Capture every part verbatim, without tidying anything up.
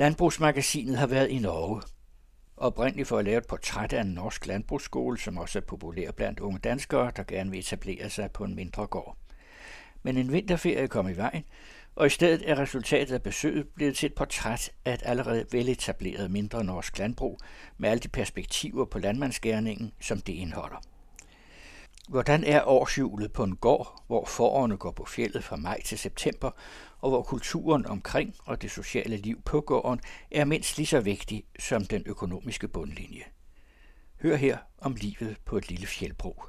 Landbrugsmagasinet har været i Norge. Oprindeligt for at lave et portræt af en norsk landbrugsskole, som også er populær blandt unge danskere, der gerne vil etablere sig på en mindre gård. Men en vinterferie kom i vejen, og i stedet er resultatet af besøget blevet til et portræt af et allerede veletableret mindre norsk landbrug med alle de perspektiver på landmandsgerningen, som det indeholder. Hvordan er årshjulet på en gård, hvor fårene går på fjeldet fra maj til september, og hvor kulturen omkring og det sociale liv på gården er mindst lige så vigtig som den økonomiske bundlinje? Hør her om livet på et lille fjeldbrug.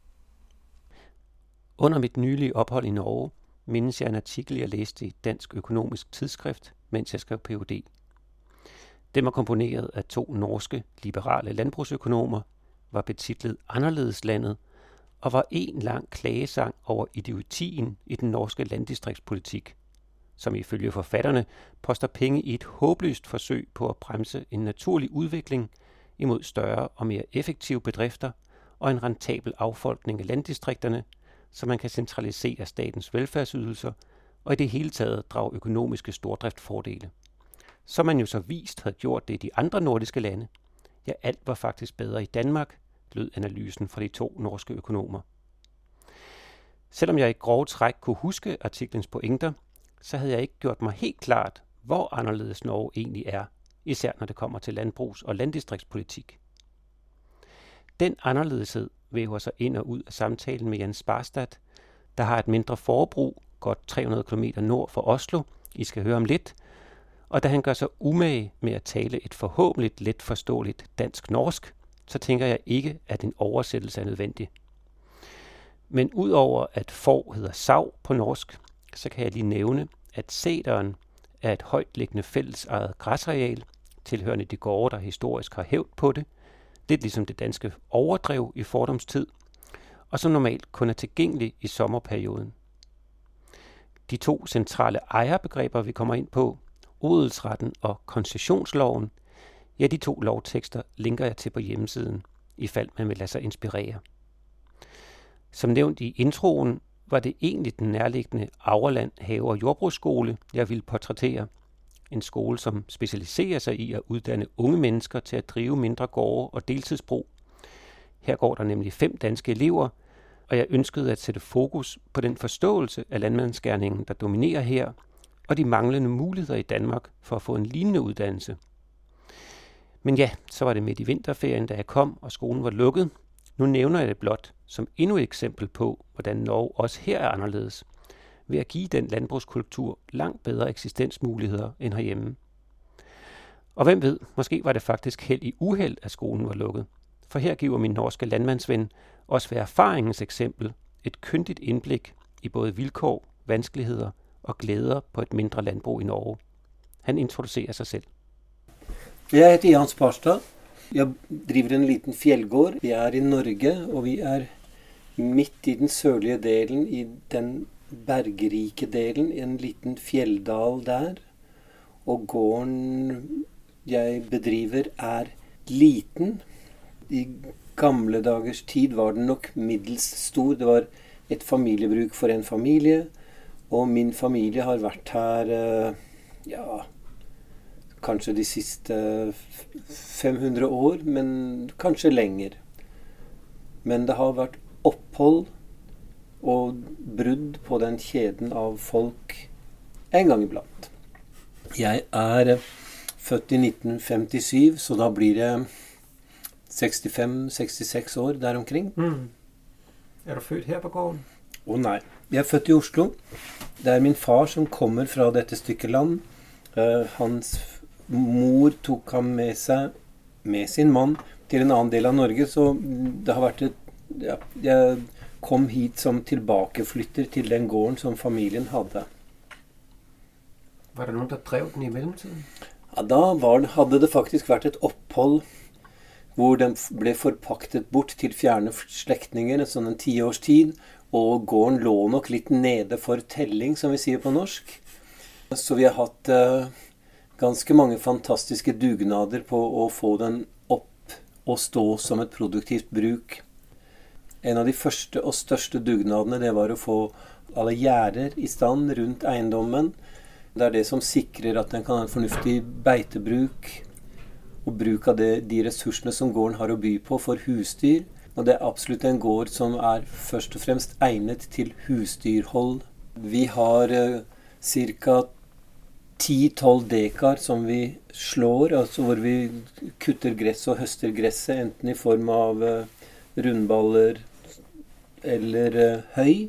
Under mit nylige ophold i Norge mindes jeg en artikel, jeg læste i Dansk Økonomisk Tidsskrift, mens jeg skrev P H D. Den var komponeret af to norske liberale landbrugsøkonomer, var betitlet Anderledeslandet, og var en lang klagesang over idiotien i den norske landdistriktspolitik, som ifølge forfatterne poster penge i et håbløst forsøg på at bremse en naturlig udvikling imod større og mere effektive bedrifter og en rentabel affolkning af landdistrikterne, så man kan centralisere statens velfærdsydelser og i det hele taget drage økonomiske stordriftfordele. Som man jo så vist havde gjort det i de andre nordiske lande. Ja, alt var faktisk bedre i Danmark, lød analysen fra de to norske økonomer. Selvom jeg i grove træk kunne huske artiklens pointer, så havde jeg ikke gjort mig helt klart, hvor anderledes Norge egentlig er, især når det kommer til landbrugs- og landdistriktspolitik. Den anderledeshed væver sig ind og ud af samtalen med Jens Sparstad, der har et mindre forbrug, godt tre hundrede kilometer nord for Oslo, I skal høre om lidt, og da han gør sig umage med at tale et forhåbentlig let forståeligt dansk-norsk, så tænker jeg ikke, at en oversættelse er nødvendig. Men udover at får hedder sav på norsk, så kan jeg lige nævne, at sæderen er et højtliggende fællesejet græsareal, tilhørende de gårde, der historisk har hævd på det, lidt ligesom det danske overdrev i fordomstid, og som normalt kun er tilgængelig i sommerperioden. De to centrale ejerbegreber, vi kommer ind på, odelsretten og koncessionsloven, ja, de to lovtekster linker jeg til på hjemmesiden, ifald man vil lade sig inspirere. Som nævnt i introen, var det egentlig den nærliggende Aurland Have- og Jordbrugsskole, jeg ville portrættere. En skole, som specialiserer sig i at uddanne unge mennesker til at drive mindre gårde og deltidsbrug. Her går der nemlig fem danske elever, og jeg ønskede at sætte fokus på den forståelse af landmandsgerningen, der dominerer her, og de manglende muligheder i Danmark for at få en lignende uddannelse. Men ja, så var det midt i vinterferien, da jeg kom, og skolen var lukket. Nu nævner jeg det blot som endnu et eksempel på, hvordan Norge også her er anderledes, ved at give den landbrugskultur langt bedre eksistensmuligheder end herhjemme. Og hvem ved, måske var det faktisk held i uheld, at skolen var lukket. For her giver min norske landmandsven også ved erfaringens eksempel et kyndigt indblik i både vilkår, vanskeligheder og glæder på et mindre landbrug i Norge. Han introducerer sig selv. Jeg heter Jens Sparstad. Jeg driver en liten fjeldgård. Vi er i Norge, og vi er midt i den sørlige delen, i den bergrike delen, en liten fjelldal der. Og gården jeg bedriver er liten. I gamle dagers tid var den nok middels stor. Det var et familiebruk for en familie, og min familie har vært her, ja, kanskje de siste fem hundre år, men kanskje lenger. Men det har vært opphold og brudd på den kjeden av folk en gang iblant. Jeg er født i nitten femtisju, så da blir det sekstifem sekstiseks år der omkring. Mm. Er du født her på gården? Å nei, jeg er født i Oslo. Det er min far som kommer fra dette stykket land. Uh, hans mor tok ham med seg, med sin mann, til en annen del av Norge, så det har vært et, ja, jeg kom hit som tilbakeflytter til den gården som familien hadde. Var det noen der drev den i mellemtiden? Ja, da var, hadde det faktisk vært et opphold hvor den ble forpaktet bort til fjerne slektninger, en sånn en ti års tid, og gården lå nok litt nede for telling, som vi sier på norsk. Så vi har hatt uh, ganske mange fantastiske dugnader på å få den opp og stå som et produktivt bruk. En av de første og største dugnadene, det var å få alle gjerder i stand rundt eiendommen. Det er det som sikrer at den kan ha en fornuftig beitebruk og bruk av det, de ressursene som gården har å by på for husdyr. Og det er absolutt en gård som er først og fremst egnet til husdyrhold. Vi har eh, ca. ti til tolv dekar som vi slår, altså hvor vi kutter gress og høster gresset, enten i form av eh, rundballer eller eh, høy.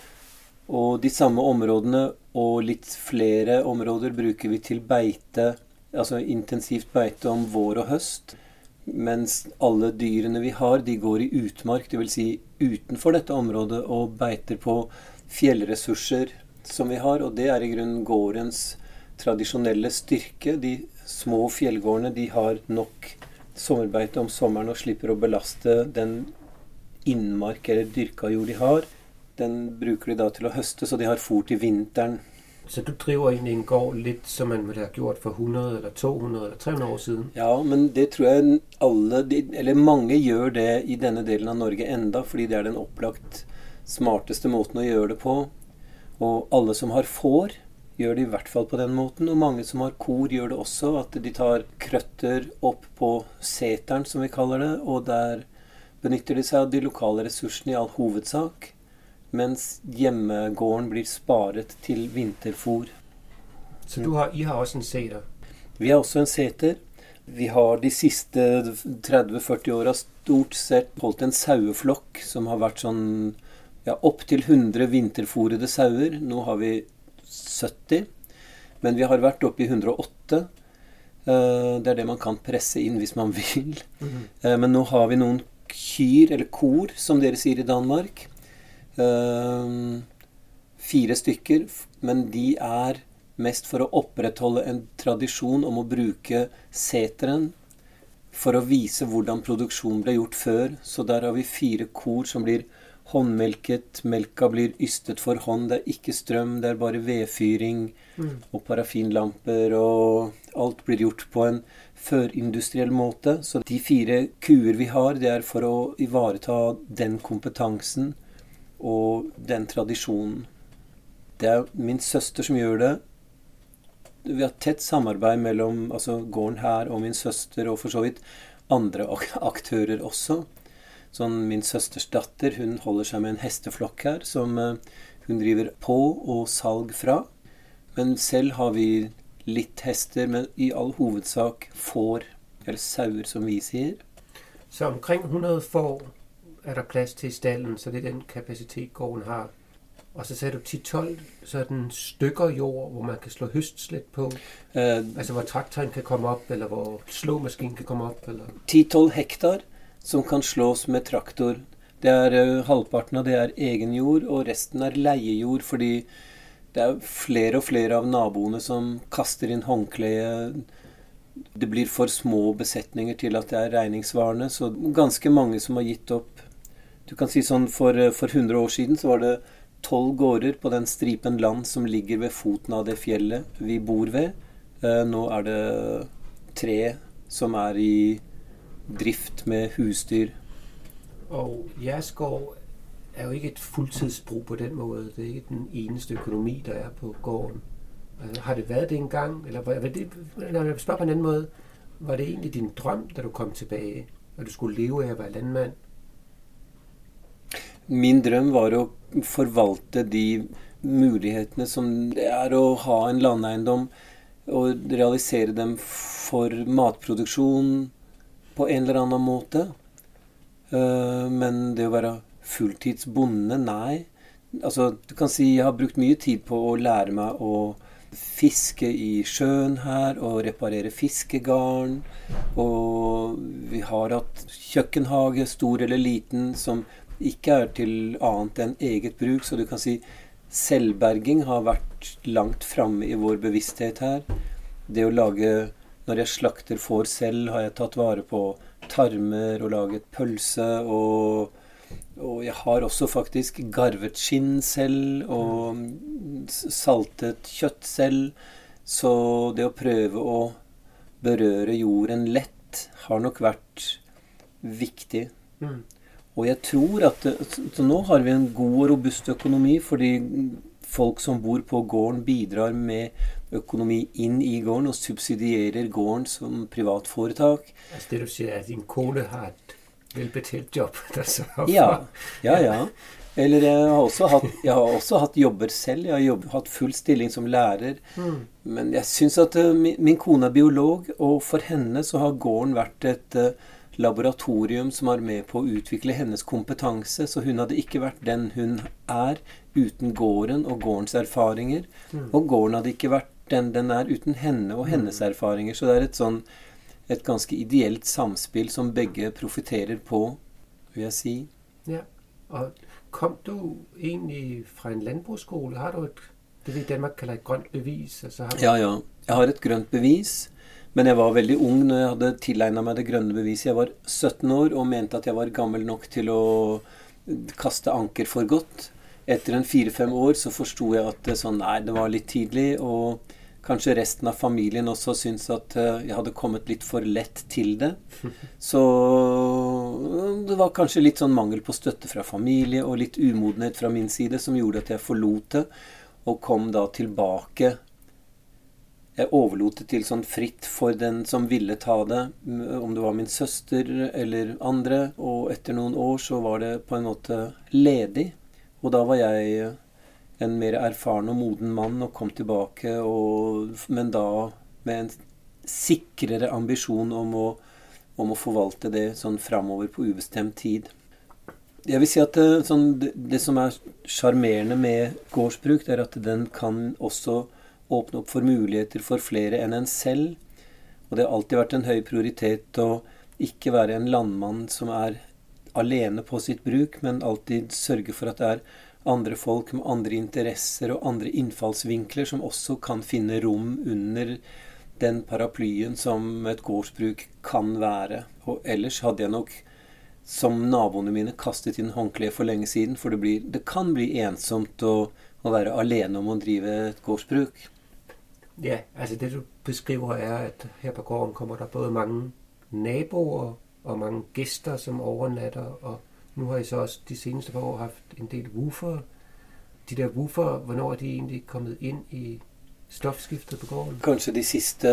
Og de samme områdene og litt flere områder bruker vi til beite, altså intensivt beite om vår og høst. Mens alle dyrene vi har, de går i utmark, det vil si utenfor dette området, og beiter på fjellressurser som vi har. Og det er i grunnen gårdens tradisjonelle styrke. De små fjellgårdene, de har nok sommerbeite om sommeren og slipper å belaste den innmark eller dyrka jord de har. Den bruker de da til å høste, så de har fôr til vinteren. Så du driver egentlig en gård litt som man ville ha gjort for hundre eller to hundre eller tre hundre år siden? Ja, men det tror jeg alle, eller mange gjør det i denne delen av Norge enda, fordi det er den opplagt smarteste måten å gjøre det på. Og alle som har får, gjør det i hvert fall på den måten, og mange som har kor gjør det også, at de tar krøtter opp på seteren, som vi kaller det, og der benytter de seg av de lokale ressursene i all hovedsak, mens hjemmegården blir sparet til vinterfôr. Så du har, I har også en seter? Vi har også en seter. Vi har de siste tretti til førti åra stort sett holdt en saueflokk som har vært sånn ja, opp til hundre vinterfôrede sauer. Nå har vi sytti, men vi har vært oppe i hundre og åtte. Det er det man kan presse inn hvis man vil. Mm-hmm. Men nå har vi noen kyr, eller kor, som dere sier i Danmark. Uh, fire stykker, men de er mest for å opprettholde en tradisjon om å bruke seteren for å vise hvordan produksjonen ble gjort før. Så der har vi fire kor som blir håndmelket, melka blir ystet for hånd, det er ikke strøm, det er bare vedfyring mm. og parafinlamper, og alt blir gjort på en førindustriell måte. Så de fire kuer vi har, det er for å ivareta den kompetansen og den tradisjonen. Det er min søster som gjør det. Vi har tett samarbeid mellom altså gården her og min søster, og for så vidt andre aktører også. Sånn min søsters datter, hun holder seg med en hesteflokk her, som hun driver på og salg fra. Men selv har vi litt hester, men i all hovedsak får, eller sauer som vi sier. Så omkring hundre får er der plads til i stallen, så det er den kapasitet gården har. Og så sagde du ti til tolv sådan stykker jord, hvor man kan slå høstslæt på. Uh, altså hvor traktoren kan komme opp, eller hvor slåmaskinen kan komme opp. ti til tolv hektar som kan slås med traktor. Det er uh, halvparten av det er egen jord, og resten er leiejord, fordi det er flere og flere av naboene som kaster inn håndkleet. Det blir for små besetninger til at det er regningsvarende, så ganske mange som har gitt opp. Du kan si sånn, for, for hundre år siden så var det tolv gårder på den stripen land som ligger ved foten av det fjellet vi bor ved. Eh, nå er det tre som er i drift med husdyr. Og jeres gård er jo ikke et fulltidsbruk på den måten. Det er ikke den eneste økonomi, der er på gården. Har det været det en gang? Eller var det, når jeg spørger på en anden måde, var det egentlig din drøm, da du kom tilbage, og du skulle leve af at være landmand? Min drøm var å forvalte de mulighetene som det er å ha en landeiendom, og realisere dem for matproduksjon på en eller annen måte. Men det å være fulltidsbonde, nei. Altså, du kan si jeg har brukt mye tid på å lære meg å fiske i sjøen her, og reparere fiskegarn. Og vi har hatt kjøkkenhage, stor eller liten, som ikke er til annet enn eget bruk, så du kan si selvberging har vært langt fremme i vår bevissthet her. Det å lage, når jeg slakter får selv, har jeg tatt vare på tarmer og laget pølse, og, og jeg har også faktisk garvet skinn selv, og saltet kjøtt selv, så det å prøve å berøre jorden lett har nok vært viktig. Mm. Og jeg tror at så nå har vi en god og robust økonomi, fordi folk som bor på gården bidrar med økonomi inn i gården og subsidierer gården som privatforetak. Altså det du sier er at din kone har et velbetalt jobb? Ja, ja, ja. Eller jeg har også hatt, jeg har også hatt jobber selv. Jeg har jobb, hatt full stilling som lærer. Mm. Men jeg synes at uh, min, min kone er biolog, og for henne så har gården vært et uh, laboratorium som er med på å utvikle hennes kompetanse. Så hun hadde ikke vært den hun er uten gården og gårdens erfaringer. Mm. Og gården hadde ikke vært den den er uten henne og hennes mm. erfaringer. Så det er et, sånn, et ganske ideelt samspill som begge profiterer på, vil jeg si. Ja, og kom du egentlig fra en landbruksskole? Har du et, det vi i Danmark kaller et grønt bevis? Altså har du... Ja, ja. Jeg har et grønt bevis, men jeg var veldig ung når jeg hadde tilegnet meg det grønne beviset. Jeg var sytten år og mente at jeg var gammel nok til å kaste anker for godt. Etter en fire-fem år så forstod jeg at det, sånn, nei, det var litt tidlig, og kanskje resten av familien også syntes at jeg hadde kommet litt for lett til det. Så det var kanskje litt sånn mangel på støtte fra familie og litt umodenhet fra min side som gjorde at jeg forlot det og kom da tilbake. Jeg overlot det til sånn fritt for den som ville ta det, om det var min søster eller andre, og etter noen år så var det på en måte ledig. Og da var jeg en mer erfaren og moden mann og kom tilbake, og, men da med en sikrere ambisjon om å, om å forvalte det sånn fremover på ubestemt tid. Jeg vil si at det, sånn, det, det som er charmerende med gårdsbruk, det er at den kan også åpne opp for muligheter for flere enn en selv. Og det har alltid vært en høy prioritet å ikke være en landmann som er alene på sitt bruk, men alltid sørge for at det er andre folk med andre interesser og andre innfallsvinkler som også kan finne rom under den paraplyen som et gårdsbruk kan være. Og ellers hadde jeg nok, som naboene mine, kastet inn håndkleet for lenge siden, for det, blir, det kan bli ensomt å, å være alene om å drive et gårdsbruk. Ja, altså det du beskriver er, at her på gården kommer der både mange naboer og mange gæster som overnatter, og nu har I så også de seneste par år haft en del woofer. De der woofer, hvornår er de egentlig kommet inn i stoffskiftet på gården? Kanskje de siste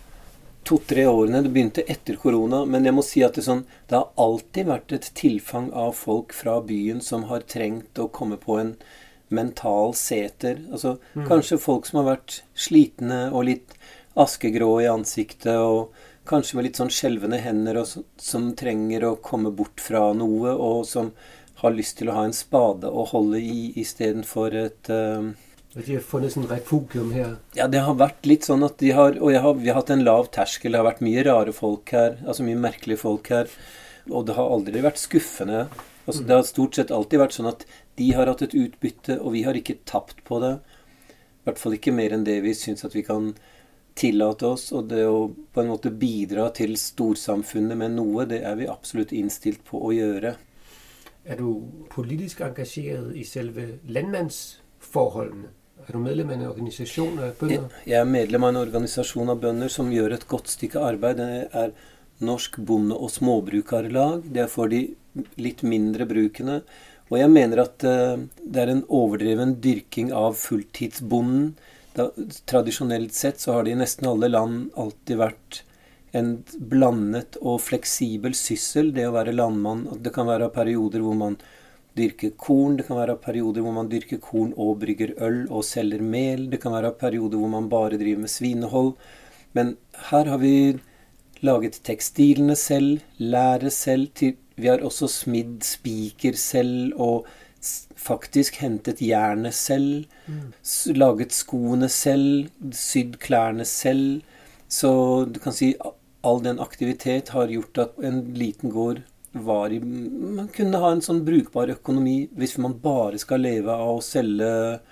to-tre årene. Det begynte etter korona, men jeg må si at det, sånn, det har alltid vært et tilfang av folk fra byen som har trengt å komme på en mental seter. Altså, mm. Kanskje folk som har vært slitne og litt askegrå i ansiktet, og kanskje med litt sånn skjelvende hender, og som, som trenger å komme bort fra noe, og som har lyst til å ha en spade å holde i, i stedet for et... Uh... De har funnet sånn refugium her. Ja, det har vært litt sånn at de har... Og jeg har, vi har hatt en lav terskel, det har vært mye rare folk her, altså mye merkelige folk her, og det har aldri vært skuffende. Altså, mm. Det har stort sett alltid vært sånn at de har hatt et utbytte, og vi har ikke tapt på det. I hvert fall ikke mer enn det vi synes at vi kan tillate oss, og det å på en måte bidra til storsamfunnet med noe, det er vi absolutt innstilt på å gjøre. Er du politisk engasjeret i selve landmannsforholdene? Er du medlem av en organisasjon av bønder? Jeg er medlem av en organisasjon av bønder som gjør et godt stykke arbeid. Det er Norsk Bonde- og Småbrukarlag. Det er for de litt mindre brukene. Og jeg mener at uh, det er en overdreven dyrking av fulltidsbonden. Da, tradisjonelt sett så har det i nesten alle land alltid vært en blandet og fleksibel syssel, det å være landmann. Det kan være perioder hvor man dyrker korn, det kan være perioder hvor man dyrker korn og brygger øl og selger mel, det kan være perioder hvor man bare driver med svinehold. Men her har vi laget tekstilene selv, lære selv, til, vi har også smidd spiker selv og faktisk hentet jernet selv, mm. laget skoene selv, sydd klærne selv. Så du kan si all den aktivitet har gjort at en liten gård var i... Man kunne ha en sånn brukbar økonomi hvis man bare skal leve av å selge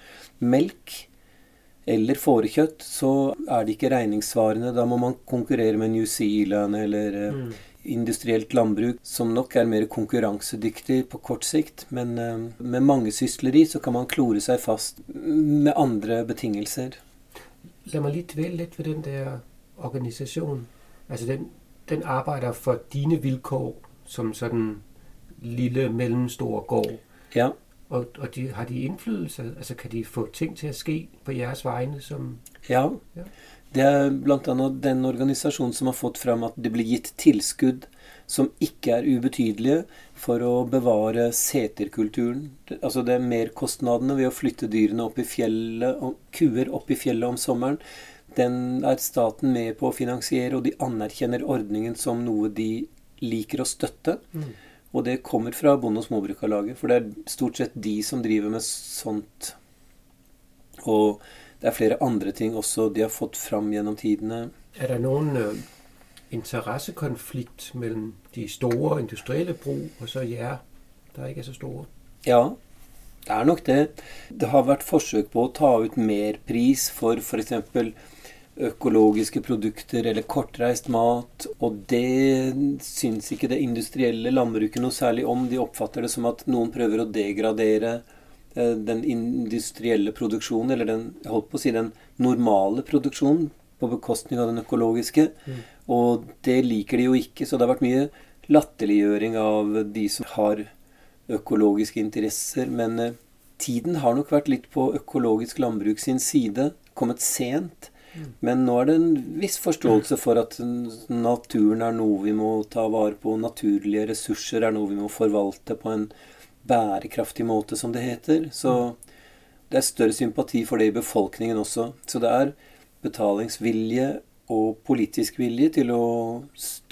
melk eller fårekjøtt, så er det ikke regningssvarende. Da må man konkurrere med New Zealand eller... Mm. industrielt landbruk, som nok er mer konkurransedyktig på kort sikt, men uh, med mange sysleri så kan man klore seg fast med andre betingelser. Lad mig lige dvæle lidt ved den der organisation. Altså den, den arbejder for dine vilkår som sådan lille, mellemstor gård. Ja. Og, og de, har de indflydelse? Altså kan de få ting til at ske på jeres vegne? Som Ja. Ja. Det er blant annet den organisasjonen som har fått frem at det blir gitt tilskudd som ikke er ubetydelige for å bevare seterkulturen. Det- Altså det er merkostnadene ved å flytte dyrene opp i fjellet, og kuer opp i fjellet om sommeren. Den er staten med på å finansiere, og de anerkjenner ordningen som noe de liker å støtte. Mm. Og det kommer fra Bonde- og Småbrukarlaget, for det er stort sett de som driver med sånt. Og det er flere andre ting også de har fått fram gjennom tidene. Er der nogen øh, interessekonflikt mellem de store industrielle brug og så jer, der ikke er så store? Ja, det er nok det. Det har vært forsøk på å ta ut mer pris for for eksempel økologiske produkter eller kortreist mat, og det syns ikke det industrielle landbruket noe særlig om. De oppfatter det som at noen prøver å degradere eh, den industrielle produksjonen, eller den, jeg holdt på å si, den normale produksjonen, på bekostning av den økologiske. Mm. Og det liker de jo ikke, så det har vært mye latterliggjøring av de som har økologiske interesser, men eh, tiden har nok vært litt på økologisk landbruk sin side, kommet sent. Men nå er det en viss forståelse for at naturen er noe vi må ta vare på, naturlige ressurser er noe vi må forvalte på en bærekraftig måte, som det heter. Så det er større sympati for det i befolkningen også. Så det er betalingsvilje og politisk vilje til å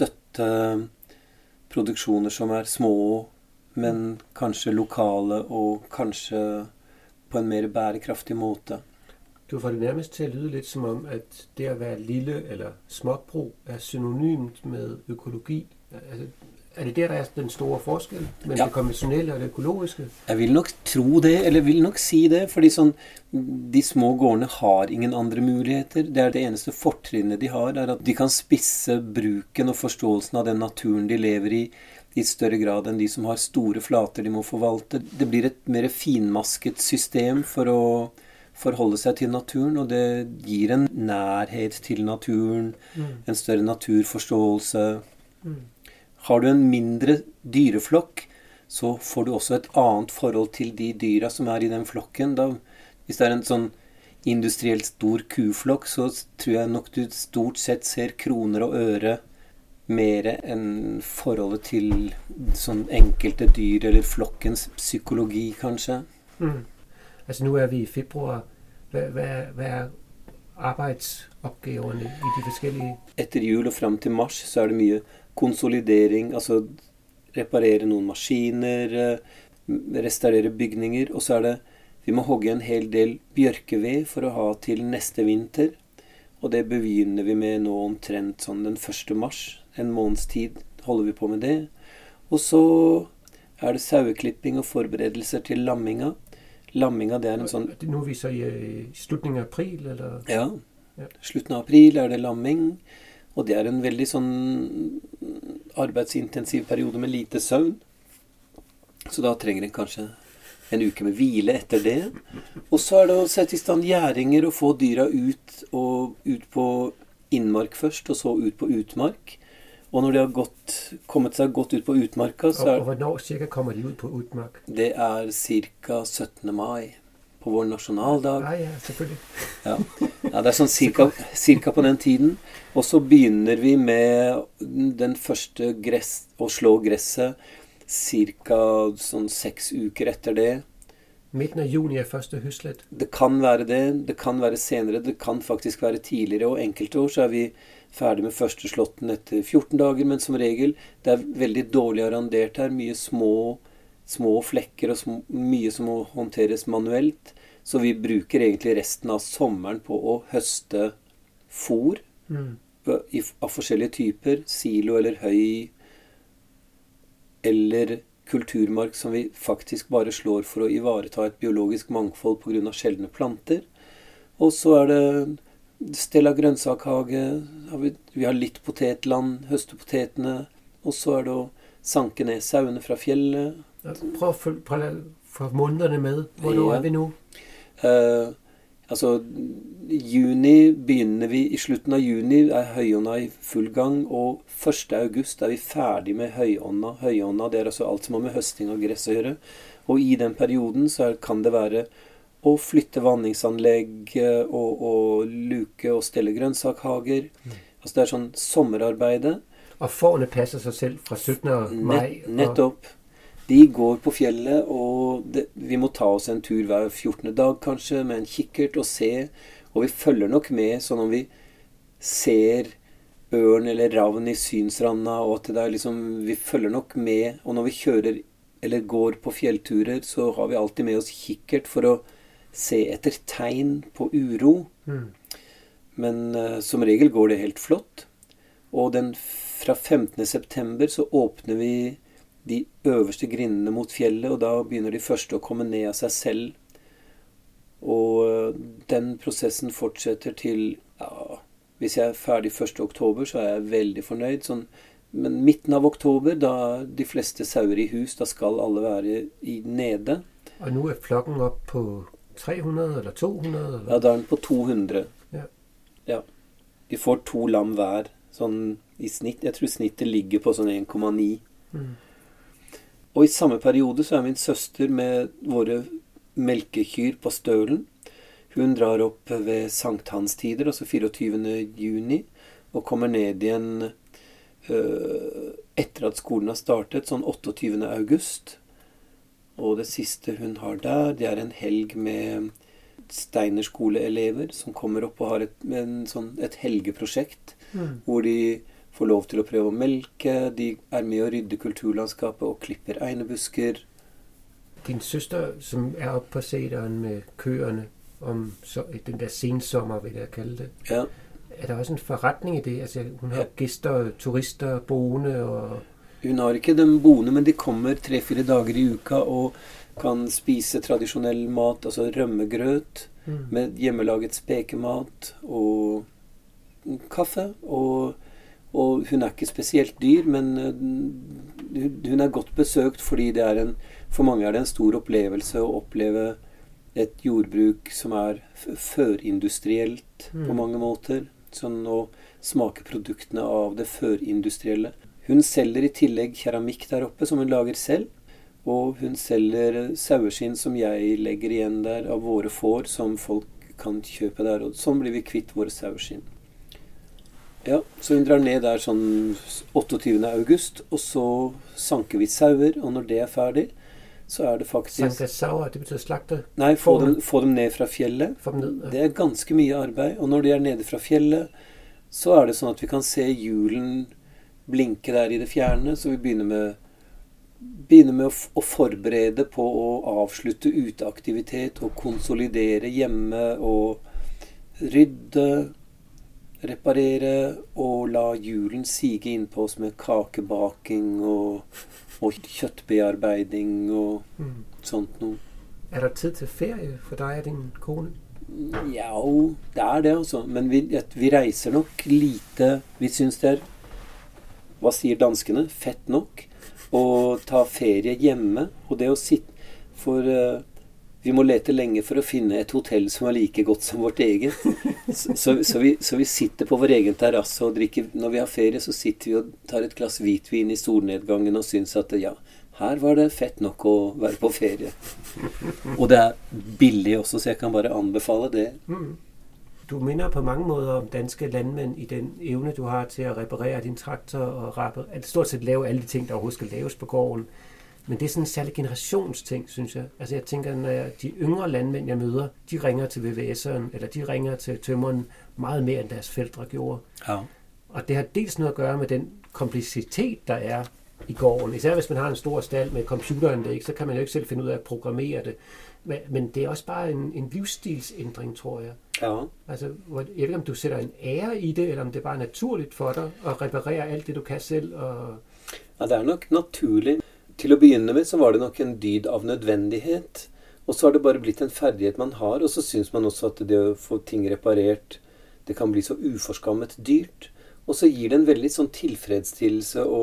støtte produksjoner som er små, men kanskje lokale og kanskje på en mer bærekraftig måte. Du får det nærmest til at lyde lidt som om, at det at være lille eller småbrug er synonymt med økologi. Altså, er det der, der er den store forskel mellem Ja. det konventionelle og det økologiske? Jeg vil nok tro det, eller vil nok si det, fordi sånn, de små gårdene har ingen andre muligheter. Det er det eneste fortrinnet de har, er at de kan spisse bruken og forståelsen av den naturen de lever i, i større grad enn de som har store flater de må forvalte. Det blir et mer finmasket system for å forholde seg til naturen, og det gir en nærhet til naturen, Mm. en større naturforståelse. Mm. Har du en mindre dyreflokk, så får du også et annet forhold til de dyra som er i den flokken. Da, hvis det er en sånn industrielt stor kuflokk, så tror jeg nok du stort sett ser kroner og øre mer enn forholdet til sånn enkelte dyr, eller flokkens psykologi, kanskje. Mm. Altså nu er vi i februar. Hvad, hvad, er, hvad er arbejdsopgaverne i de forskellige? Etter jul og frem til mars så er det mye konsolidering, altså reparere noen maskiner, eh, restaurere bygninger, og så er det, vi må hogge en hel del bjørkeved for å ha til neste vinter, og det begynner vi med nå omtrent sånn den første mars, en måneds tid holder vi på med det, og så er det saueklipping og forberedelser til lamminga. Lamminga, det er en sånn... Nu er vi så i, i slutningen af april, eller? Ja, Ja. slutten av april er det lamming, og det er en veldig sånn arbeidsintensiv periode med lite søvn. Så da trenger en kanskje en uke med hvile etter det. Og så er det å sette i stand gjæringer og få dyra ut, og ut på innmark først, og så ut på utmark. Og når de har gått, kommet seg godt ut på utmarka, så Og, og er hvornår cirka kommer de ud på utmark? det er cirka syttende mai på vår nasjonaldag. Ah ja, selvfølgelig. Ja. Ja, det er sånn cirka, cirka på den tiden. Og så begynner vi med den første gress, å slå gresset cirka sånn seks uker etter det. Midten af juni er første høslet. Det kan være det, det kan være senere, det kan faktisk være tidligere, og enkelte år så er vi ferdig med første slåtten etter fjorten dager, men som regel, det er veldig dårlig arrandert her, mye små, små flekker og små, mye som må håndteres manuelt, så vi bruker egentlig resten av sommeren på å høste fôr Mm. i, av forskjellige typer, silo eller høy, eller kulturmark som vi faktisk bare slår for å ivareta et biologisk mangfold på grunn av sjeldne planter. Og så er det stell av grønnsakhage, har vi, vi har litt potetland, høste potetene, og så er det å sanke ned sauene fra fjellet. Prøv at følge, prøv at få månederne med. Hvornår Ja. er vi nu? Eh, Altså, juni begynner vi, i slutten av juni er høyånda i full gang, og første august er vi ferdig med høyånda. Høyånda, det er altså alt som har med høsting av gress å gjøre. Og i den perioden så er, kan det være å flytte vanningsanlegg og, og luke og stelle grønnsakhager. Mm. Altså det er sånn sommerarbeide. Og fårene passer seg selv fra syttende mai. Nett, nettopp. De går på fjellet, og det, vi må ta oss en tur hver fjortende dag kanskje, med en kikkert og se. Og vi følger nok med, sånn om vi ser ørn eller ravn i synsranda, og at det er liksom, vi følger nok med. Og når vi kjører eller går på fjellturer, så har vi alltid med oss kikkert for å se etter tegn på uro. Mm. Men uh, som regel går det helt flott. Og den, fra femtende september så åpner vi de øverste grindene mot fjellet, og da begynner de første å komme ned av seg selv. Og den prosessen fortsetter til, ja, hvis jeg er ferdig første oktober, så er jeg veldig fornøyd. Sånn, men midten av oktober, da de fleste sauer i hus, da skal alle være i nede. Og nå er flokken opp på tre hundre eller to hundre? Eller? Ja, da er den på to hundre. Ja. Ja. De får to lam hver, sånn i snitt. Jeg tror snittet ligger på sånn en komma ni. Mm. Og i samme periode så er min søster med våre melkekyr på Stølen. Hun drar opp ved sankthanstider, altså fireogtyvende juni, og kommer ned igjen øh, etter at skolen har startet, sånn otteogtyvende august. Og det siste hun har der, det er en helg med Steinerskoleelever som kommer opp og har et, en, sånn, et helgeprosjekt, mm. hvor de får lov til å prøve å melke, de er med å rydde kulturlandskapet og klipper einebusker. Din søster, som er oppe på seteren med køerne, om så, den der sensommer, vil jeg kalde det, ja. Er der også en forretning i det? Altså, hun har ja. Gæster, turister, boende og... Hun har ikke dem boende, men de kommer tre-fire dager i uka og kan spise tradisjonell mat, altså rømmegrøt, mm. med hjemmelaget spekemat og kaffe, og Og hun er ikke spesielt dyr, men hun er godt besøkt fordi det er en, for mange er det en stor opplevelse å oppleve et jordbruk som er førindustrielt mm. på mange måter. Sånn å smake produktene av det førindustrielle. Hun selger i tillegg keramikk der oppe som hun lager selv. Og hun selger saueskinn som jeg legger igjen der av våre får som folk kan kjøpe der. Og sånn blir vi kvitt våre saueskinn. Ja, så hun drar ned der sånn otteogtyvende august, og så sanker vi sauer, og når det er ferdig, så er det faktisk... Sanke sauer, det betyr slakte? Nei, få dem, få dem ned fra fjellet. Få dem ned, ja. Det er ganske mye arbeid, og når de er nede fra fjellet, så er det sånn at vi kan se julen blinke der i det fjerne, så vi begynner med, begynner med å, f- å forberede på å avslutte uteaktivitet, og konsolidere hjemme, og rydde... reparere og la julen sige inn på oss med kakebaking og, og kjøttbearbeiding og mm. sånt noe. Er der tid til ferie for deg og din kone? Ja, det er det altså. Men vi, vi reiser nok lite. Vi synes det er, hva sier danskene, fett nok å ta ferie hjemme. Og det å sitte for... Uh, Vi må lete lenge for å finne et hotell som er like godt som vårt eget. Så, så, så, vi, så vi sitter på vår egen terrasse og drikker. Når vi har ferie, så sitter vi og tar et glass hvitvin i solnedgangen og synes at ja, her var det fett nok å være på ferie. Og det er billig også, så jeg kan bare anbefale det. Mm. Du minner på mange måder om danske landmænd i den evne, du har til å reparere din traktor og rappe, stort sett lave alle de ting, der overhovedet skal laves på gården. Men det er sådan en særlig generationsting, synes jeg. Altså jeg tænker, når jeg, de yngre landmænd, jeg møder, de ringer til V V S'eren, eller de ringer til tømmeren meget mere, end deres fældre gjorde. Ja. Og det har dels noget at gøre med den komplicitet, der er i gården. Især hvis man har en stor stald med computeranlæg, så kan man jo ikke selv finde ud af at programmere det. Men, men det er også bare en, en livsstilsændring, tror jeg. Ja. Altså, jeg ved ikke, om du sætter en ære i det, eller om det bare er naturligt for dig at reparere alt det, du kan selv. Og... Ja, det er nok naturlig. Til å begynne med så var det nok en dyd av nødvendighet, og så har det bare blitt en ferdighet man har, og så synes man også at det å få ting reparert, det kan bli så uforskammet dyrt, og så gir det en veldig sånn tilfredsstillelse å,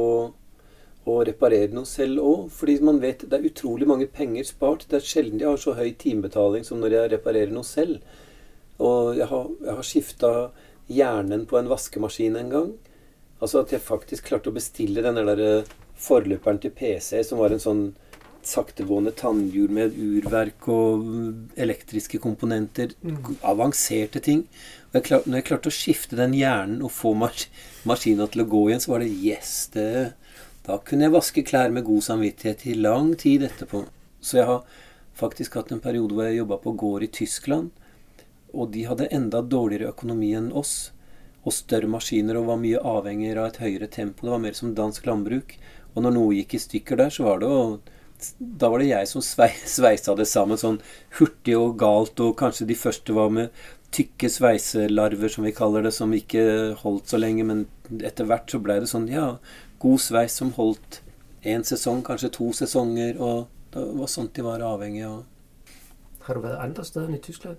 å reparere noe selv også, fordi man vet det er utrolig mange penger spart, det er sjelden de har så høy timebetaling som når jeg reparerer noe selv, Og jeg har, jeg har skiftet hjernen på en vaskemaskin en gang. Altså at jeg faktisk klarte å bestille den der forløperen til P C, som var en sånn saktegående tannhjul med urverk og elektriske komponenter, mm. avanserte ting. Og jeg klarte, når jeg klarte å skifte den hjernen og få mas maskinen til å gå igjen, så var det yes, det, da kunne jeg vaske klær med god samvittighet i lang tid etterpå. Så jeg har faktisk hatt en periode hvor jeg jobbet på gård i Tyskland, og de hadde enda dårligere økonomi enn oss, og større maskiner, og var mye avhengig av et høyere tempo. Det var mer som dansk landbruk. Og når noe gikk i stykker der, så var det jo da var det jeg som svei, sveisa det sammen sånn hurtig og galt, og kanskje de første var med tykke sveiselarver, som vi kaller det, som ikke holdt så lenge, men etter hvert så ble det sånn, ja, god sveis som holdt en sesong, kanskje to sesonger, og det var sånt de var avhengig av. Har du været andre steder enn i Tyskland?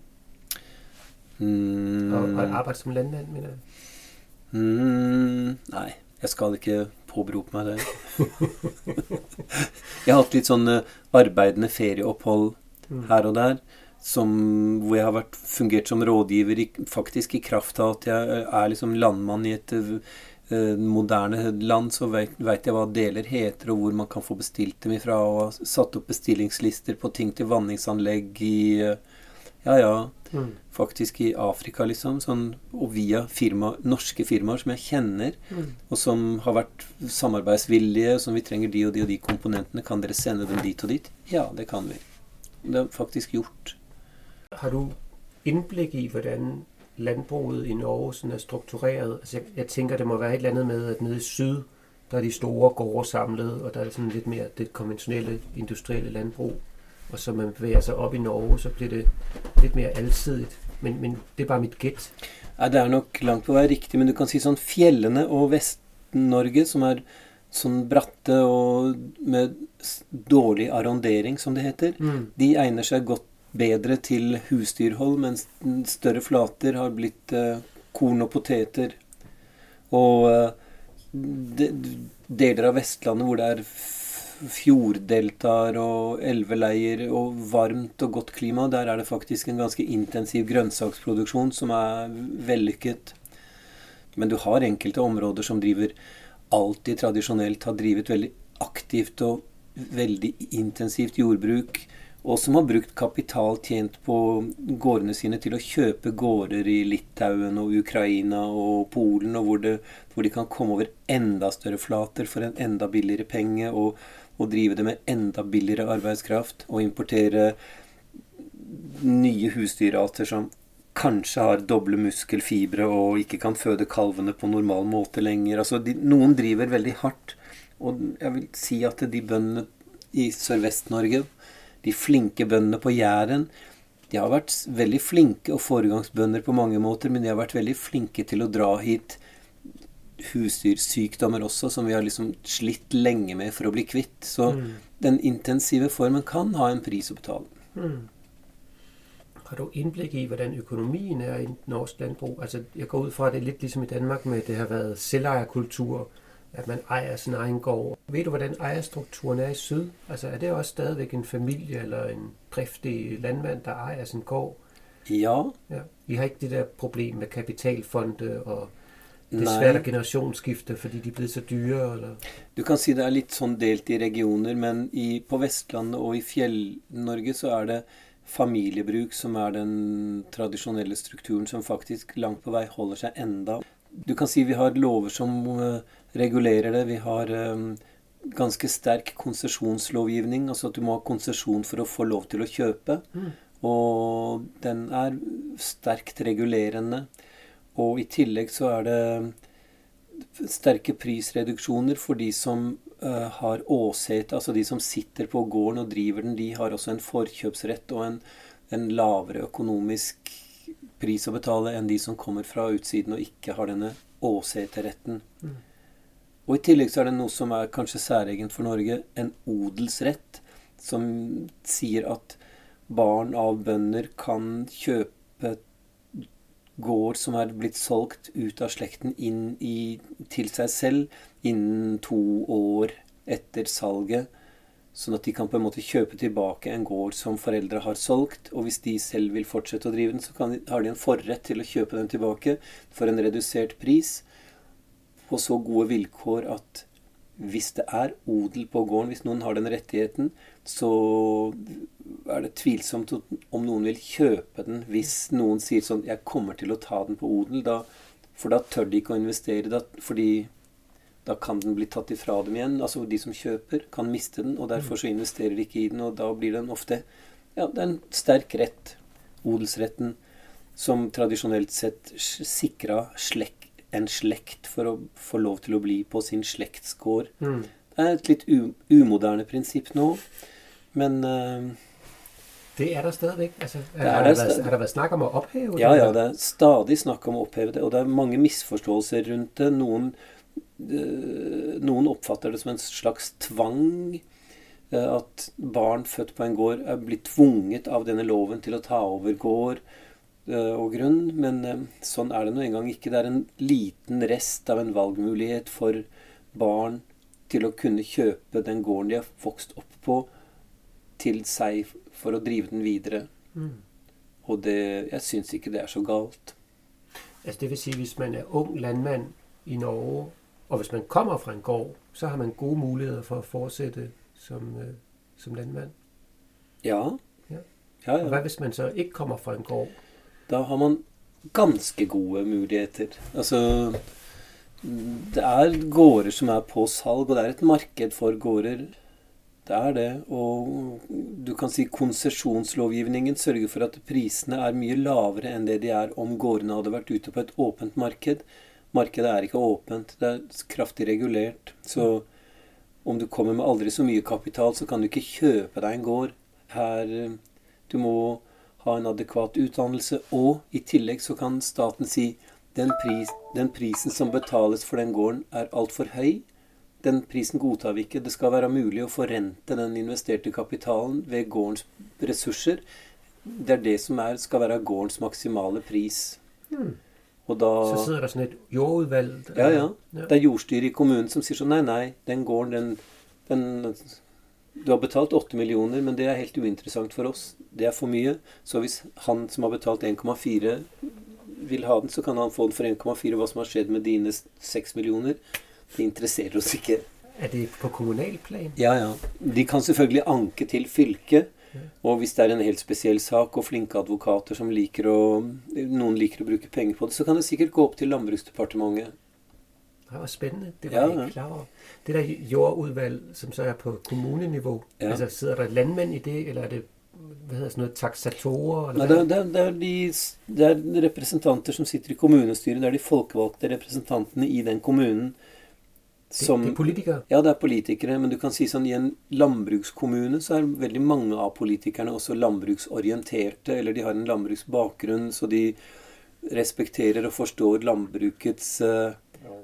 Mm. Og, og arbejdet som landmand, mener jeg? Mm, nei, jeg skal ikke påberope meg det. Jeg har hatt litt sånn arbeidende ferieopphold mm. her og der, som, hvor jeg har vært, fungert som rådgiver, i, faktisk i kraft av at jeg er liksom landmann i et uh, moderne land, så vet, vet jeg hva deler heter, og hvor man kan få bestilt dem ifra, og har satt opp bestillingslister på ting til vanningsanlegg i, uh, ja, ja, mm. faktisk i Afrika, liksom, sånn, og via firma, norske firmaer som jeg kjenner, mm. og som har vært samarbeidsvillige, som vi trenger de og de og de komponentene. Kan dere sende dem dit og dit? Ja, det kan vi. Det har faktisk gjort. Har du indblik i, hvordan landbruget i Norge sådan er struktureret? Altså, jeg, jeg tænker, det må være et eller andet med, at nede i syd, der er de store gårde samlet, og der er sådan lidt mere det konventionelle, industrielle landbrug. Og så man bevæger sig op i Norge, så bliver det lidt mere alsidigt. Men, men det er bare mit gæt. Ja, det er nok langt på vei riktig, men du kan si sånn fjellene og Vest-Norge, som er sånn bratte og med dårlig arrondering, som det heter, mm. de egner seg godt bedre til husdyrhold, mens større flater har blitt uh, korn og poteter. Og uh, de, deler av Vestlandet hvor det er fjorddeltaer og elveleier og varmt og godt klima, der er det faktisk en ganske intensiv grønnsaksproduksjon som er vellykket. Men du har enkelte områder som driver alltid tradisjonelt, har drivet veldig aktivt og veldig intensivt jordbruk, og som har brukt kapital tjent på gårdene sine til å kjøpe gårder i Litauen og Ukraina og Polen, og hvor, det, hvor de kan komme over enda større flater for en enda billigere penge, og og drive det med enda billigere arbeidskraft, og importere nye husdyrarter som kanskje har doble muskelfibre og ikke kan føde kalvene på normal måte lenger. Altså, de, noen driver veldig hardt, og jeg vil si at de bøndene i Sørvest-Norge, de flinke bøndene på Jæren, de har vært veldig flinke og foregangsbønder på mange måter, men de har vært veldig flinke til å dra hit husdyrsykdommer også, som vi har liksom slitt lenge med for å bli kvitt. Så mm. den intensive formen kan ha en pris å betale. Mm. Har du indblik i, hvordan økonomien er i norsk landbrug? Altså, jeg går ud fra, at det er lidt ligesom i Danmark med, at det har været selvejerkultur, at man ejer sin egen gård. Ved du, hvordan ejerstrukturen er i syd? Altså, er det også stadigvæk en familie eller en driftig landmand, der ejer sin gård? Ja. Ja. I har ikke det der problem med kapitalfonde og det er svært å generasjonsskifte, fordi de er blitt så dyre, eller? Du kan si det er litt sånn delt i regioner, men i, på Vestlandet og i Fjell-Norge så er det familiebruk som er den tradisjonelle strukturen som faktisk langt på vei holder seg enda. Du kan si vi har lover som uh, regulerer det. Vi har um, ganske sterk konsesjonslovgivning, altså at du må ha konsesjon for å få lov til å kjøpe, mm. og den er sterkt regulerende. Og i tillegg så er det sterke prisreduksjoner for de som uh, har åsete, altså de som sitter på gården og driver den, de har også en forkjøpsrett og en, en lavere økonomisk pris å betale enn de som kommer fra utsiden og ikke har denne åseteretten. Mm. Og i tillegg så er det noe som er kanskje særegent for Norge, en odelsrett, som sier at barn av bønder kan kjøpe gård som er blitt solgt ut av slekten inn i, til seg selv innen to år etter salget, sånn at de kan på en måte kjøpe tilbake en gård som foreldre har solgt, og hvis de selv vil fortsette å drive den, så kan de, har de en forrett til å kjøpe den tilbake for en redusert pris, på så gode vilkår at hvis det er odel på gården, hvis noen har den rettigheten, så er det tvilsomt om noen vil kjøpe den hvis noen sier sånn, jeg kommer til å ta den på odel, da, for da tør de ikke å investere, da, fordi da kan den bli tatt ifra dem igjen. Altså de som kjøper kan miste den, og derfor så investerer de ikke i den, og da blir den ofte, ja, det er en sterk rett, odelsretten, som tradisjonelt sett sikra slekt, en slekt for å få lov til å bli på sin slektsgård. Mm. Det er et litt umoderne prinsipp nå, men uh, det er der stadigvæk. Altså, er, det er, det været, har der vært snakk om å oppheve det? Ja, ja, det er stadig snakk om å oppheve det, og det er mange misforståelser rundt det. Noen, uh, noen oppfatter det som en slags tvang, uh, at barn født på en gård er blitt tvunget av denne loven til å ta over gård og grunn, men eh, sånn er det nå en gang ikke. Det er en liten rest av en valgmulighet for barn til å kunne kjøpe den gården de har vokst opp på, til seg for å drive den videre. Mm. Og det, jeg synes ikke det er så galt. Altså det vil si, hvis man er ung landmand i Norge, og hvis man kommer fra en gård, så har man gode muligheder for å fortsette som, uh, som landmand. Ja. Ja. Ja, ja. Og hva hvis man så ikke kommer fra en gård? Da har man ganske gode muligheter. Altså, det er gårder som er på salg, og det er et marked for gårder. Det er det, og du kan si konsesjonslovgivningen sørger for at prisene er mye lavere enn det de er om gårdene hadde vært ute på et åpent marked. Markedet er ikke åpent, det er kraftig regulert. Så om du kommer med aldri så mye kapital, så kan du ikke kjøpe deg en gård. Her, du må ha en adekvat utdannelse, og i tillegg så kan staten si den, pris, den prisen som betales for den gården er alt for høy. Den prisen godtar vi ikke. Det skal være mulig å forrente den investerte kapitalen ved gårdens ressurser. Det er det som er, skal være gårdens maksimale pris. Hmm. Og da, så sidder der sånn et jordudvalg? Ja, ja. Det er jordstyret i kommunen som sier sånn, nei, nei, den gården, den... den du har betalt åtte millioner, men det er helt uinteressant for oss. Det er for mye. Så hvis han som har betalt en komma fire vil ha den, så kan han få den for en komma fire. Hva som har skjedd med dine seks millioner, det interesserer oss ikke. Er det på kommunalplan? Ja, ja. De kan selvfølgelig anke til fylket. Og hvis det er en helt spesiell sak, og flinke advokater som liker å, noen liker å bruke penger på det, så kan det sikkert gå opp til Landbruksdepartementet. Det var spændende. Det var ja, jeg ikke klar over. Det der jordudvalg, som så er på kommunenivå, ja. Altså sidder der landmænd i det, eller er det, hvad hedder sådan noget, taksatorer? Nei, det, det, det, er de, det er representanter som sitter i kommunestyret, det er de folkevalgte representantene i den kommunen. Som, det, det er politikere? Ja, det er politikere, men du kan si sånn, i en landbrukskommune så er veldig mange av politikerne også landbruksorienterte, eller de har en landbruksbakgrunn, så de respekterer og forstår landbrukets uh,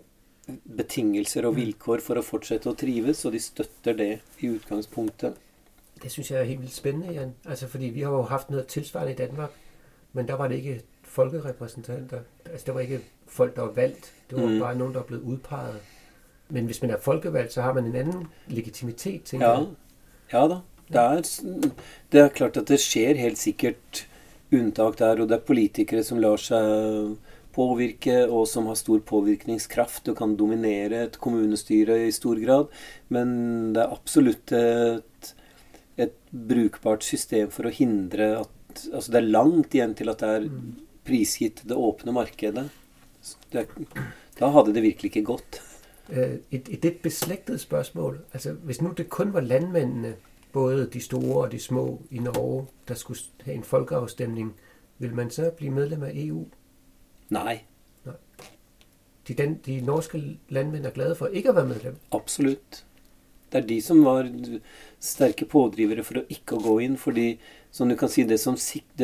betingelser og vilkår for å fortsette å trives, og de støtter det i utgangspunktet. Det synes jeg er helt vildt spændende, Jan. Altså, fordi vi har jo haft noget tilsvarende i Danmark, men der var det ikke folkerepræsentanter. Altså, der var ikke folk, der var valgt. Det var mm. bare nogen, der er blevet udpeget. Men hvis man er folkevalgt, så har man en anden legitimitet, tænker ja. jeg. Ja da. Det er, det er klart at det skjer helt sikkert unntak der, og det er politikere som lar seg påvirke, og som har stor påvirkningskraft og kan dominere et kommunestyre i stor grad. Men det er absolutt et, et brukbart system for å hindre at, altså det er langt igjen til at det er prisgitt det åpne markedet. Det, da hadde det virkelig ikke gått. Et, et lidt beslægtet spørgsmål. Altså, hvis nu det kun var landmændene, både de store og de små i Norge, der skulle have en folkeafstemning, vil man så blive medlem af E U? Nej. Nej. De, den, de norske landmænd er glade for ikke at være medlem? Absolutt. Det er de som var sterke pådrivere for å ikke gå inn, fordi, som du kan si, det som det,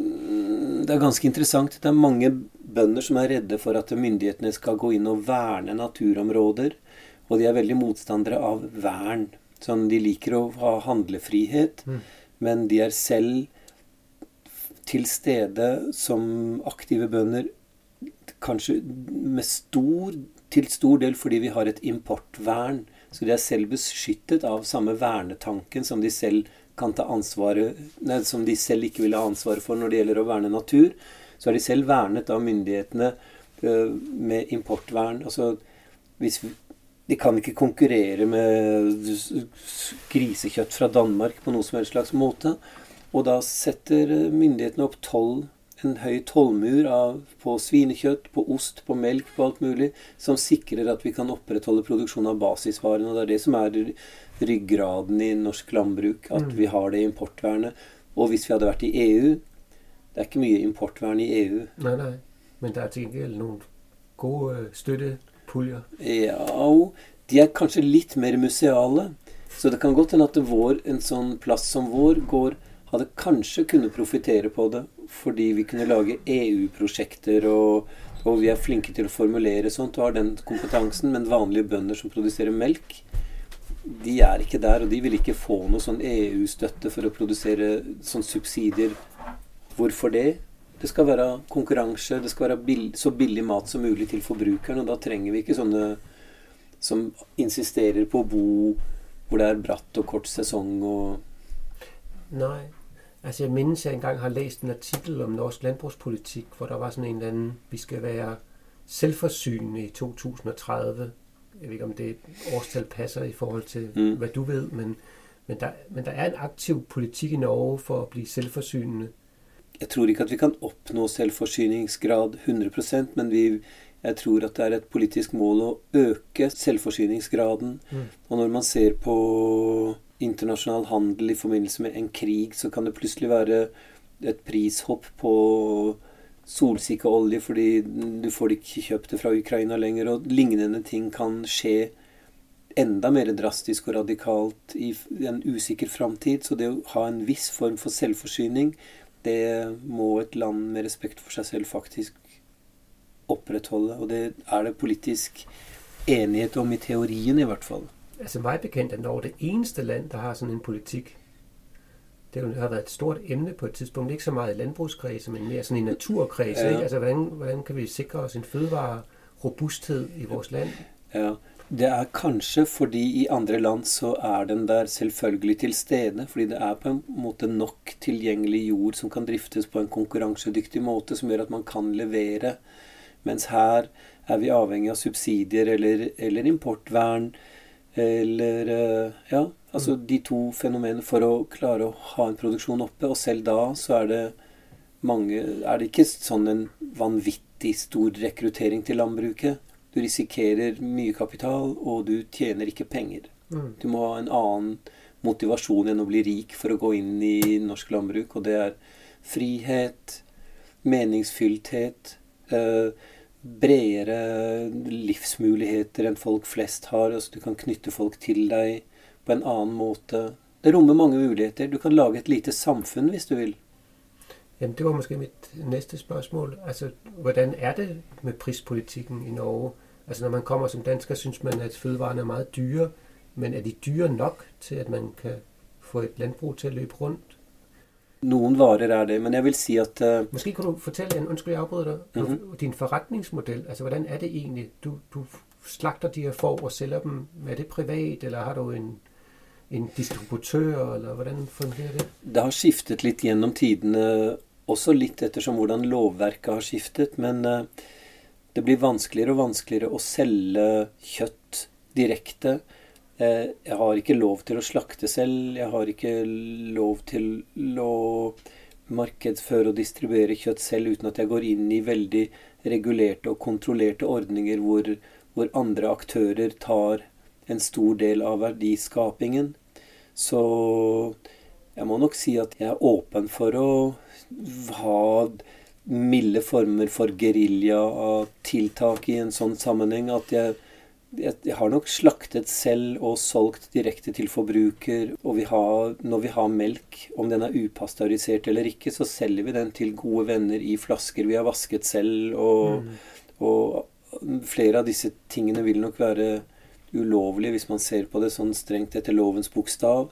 det er ganske interessant. Det er mange bønder som er redde for at myndighetene skal gå inn og verne naturområder, og de er veldig motstandere av vern. Sånn, de liker å ha handlefrihet, mm. men de er selv til stede som aktive bønder, kanskje med stor, til stor del fordi vi har et importvern. Så de er selv beskyttet av samme vernetanken som de selv kan ta ansvaret, nei, som de selv ikke vil ha ansvaret for når det gjelder å verne natur. Så er de selv vernet av myndighetene uh, med importvern. Altså, hvis vi, de kan ikke konkurrere med grisekjøtt fra Danmark på noe som helst slags måte. Og da setter myndighetene opp toll, en høy tollmur av, på svinekjøtt, på ost, på melk, på alt mulig, som sikrer at vi kan opprettholde produksjon av basisvarene. Og det er det som er ryggraden i norsk landbruk, at vi har det importvernet. Og hvis vi hadde vært i E U, det er ikke mye importvern i E U. Nei, nei, men det er til gengæld noen gode støttepuljer. Ja, de er kanskje litt mer museale. Så det kan godt hende at vår, en sånn plass som vår går, hadde kanskje kunne profitere på det, fordi vi kunne lage E U-prosjekter, og, og vi er flinke til å formulere sånt, og har den kompetansen, men vanlige bønder som produserer melk, de er ikke der, og de vil ikke få noe sånn E U-støtte for å produsere sånn subsidier. Hvorfor det? Det skal være konkurranse, det skal være bill- så billig mat som mulig til forbrukeren, og da trenger vi ikke sånne som insisterer på å bo hvor det er bratt og kort sesong. Og Nei, altså jeg mindes, jeg engang har læst en artikel om norsk landbrugspolitik, hvor der var sådan en eller anden, vi skal være selvforsynende i to tusind og tredive. Jeg ved ikke, om det årstal passer i forhold til, mm. hvad du ved, men, men, der, men der er en aktiv politik i Norge for å bli selvforsynende. Jeg tror ikke at vi kan oppnå selvforsyningsgrad hundre prosent, men vi, jeg tror at det er et politisk mål å øke selvforsyningsgraden. Mm. Og når man ser på internasjonal handel i forbindelse med en krig, så kan det plutselig være et prishopp på solsikkeolje, fordi du får ikke kjøpt det fra Ukraina lenger, og lignende ting kan skje enda mer drastisk og radikalt i en usikker fremtid. Så det å ha en viss form for selvforsyning, det må et land med respekt for seg selv faktisk opprettholde, og det er det politisk enighet om i teorien i hvert fall. Altså mig bekendt er Norge det eneste land, der har sådan en politik. Det har været et stort emne på et tidspunkt, ikke så meget i landbrugskredse, men mere sådan i naturkredse. Ja. Ikke? Altså hvordan, hvordan kan vi sikre oss en fødevarerobusthed i vores land? Ja, det er kanskje fordi i andre land så er den der selvfølgelig til stede, fordi det er på en måte nok tilgjengelig jord som kan driftes på en konkurransedyktig måte, som gjør at man kan levere. Mens her er vi avhengig av subsidier eller, eller importvern, eller ja, altså de to fenomenene for å klare å ha en produksjon oppe, og selv da så er det mange, er det ikke sånn en vanvittig stor rekruttering til landbruket. Du risikerer mye kapital, og du tjener ikke penger. Mm. Du må ha en annen motivasjon enn å bli rik for å gå inn i norsk landbruk, og det er frihet, meningsfyllthet, eh, bredere livsmuligheter enn folk flest har. Altså du kan knytte folk til deg på en annen måte. Det rommer mange muligheter. Du kan lage et lite samfunn hvis du vil. Jamen, det var måske mitt næste spørsmål. Altså, hvordan er det med prispolitikken i Norge? Altså, når man kommer som dansker, synes man, at fødevarene er meget dyre, men er de dyre nok til, at man kan få et landbrug til at løbe rundt? Noen varer er det, men jeg vil si at uh... Måske kan du fortelle, undskyld jeg afbryder dig, mm-hmm. din forretningsmodell, altså hvordan er det egentlig? Du, du slagter de her får og sælger dem, er det privat, eller har du en, en distributør, eller hvordan fungerer det? Det har skiftet litt gjennom tidene, også litt ettersom hvordan lovverket har skiftet, men uh, det blir vanskeligere og vanskeligere å selge kjøtt direkte. Jeg har ikke lov til å slakte selv, jeg har ikke lov til å markedsføre og distribuere kjøtt selv uten at jeg går inn i veldig regulerte og kontrollerte ordninger hvor, hvor andre aktører tar en stor del av verdiskapingen. Så jeg må nok si at jeg er åpen for å ha milde former for guerilla-tiltak i en sånn sammenheng, at jeg Jeg har nok slaktet selv og solgt direkte til forbruker, og vi har, når vi har melk, om den er upasteurisert eller ikke, så selger vi den til gode venner i flasker vi har vasket selv, og, mm. og flere av disse tingene vil nok være ulovlige hvis man ser på det sånn strengt etter lovens bokstav.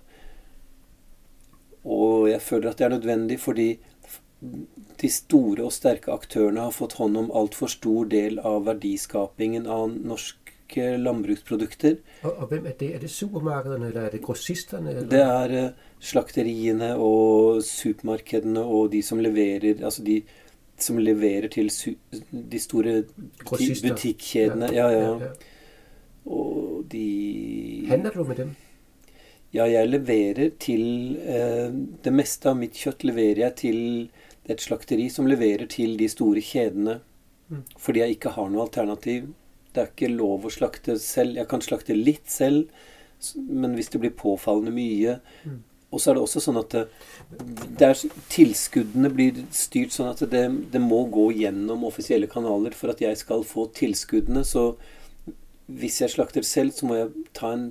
Og jeg føler at det er nødvendig fordi de store og sterke aktørene har fått hånd om alt for stor del av verdiskapingen av norsk norske landbruksprodukter. Og, og hvem er det? Er det supermarkedene, eller er det grossisterne? Eller? Det er uh, slakteriene og supermarkedene og de som leverer, altså de som leverer til su- de store butikkjedene. Ja, ja. ja, ja. Og de... Handler du med dem? Ja, jeg leverer til uh, det meste av mitt kjøtt leverer jeg til et slakteri som leverer til de store kjedene. Mm. Fordi jeg ikke har noe alternativ. Det er ikke lov å slakte selv. Jeg kan slakte litt selv, men hvis det blir påfallende mye. Mm. Og så er det også sånn at det, det er, tilskuddene blir styrt sånn at det, det må gå gjennom offisielle kanaler for at jeg skal få tilskuddene. Så hvis jeg slakter selv, så må jeg ta en